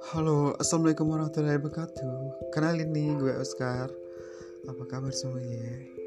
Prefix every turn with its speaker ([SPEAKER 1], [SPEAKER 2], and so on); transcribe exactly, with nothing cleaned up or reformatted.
[SPEAKER 1] Halo, assalamualaikum warahmatullahi wabarakatuh. Kenalin nih, gue Oscar. Apa kabar semuanya?